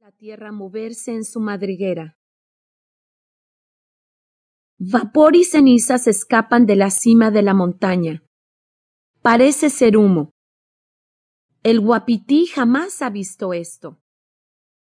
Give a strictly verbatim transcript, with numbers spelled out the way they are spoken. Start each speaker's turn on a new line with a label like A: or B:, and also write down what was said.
A: La tierra moverse en su madriguera. Vapor y cenizas escapan de la cima de la montaña. Parece ser humo. El Wapiti jamás ha visto esto.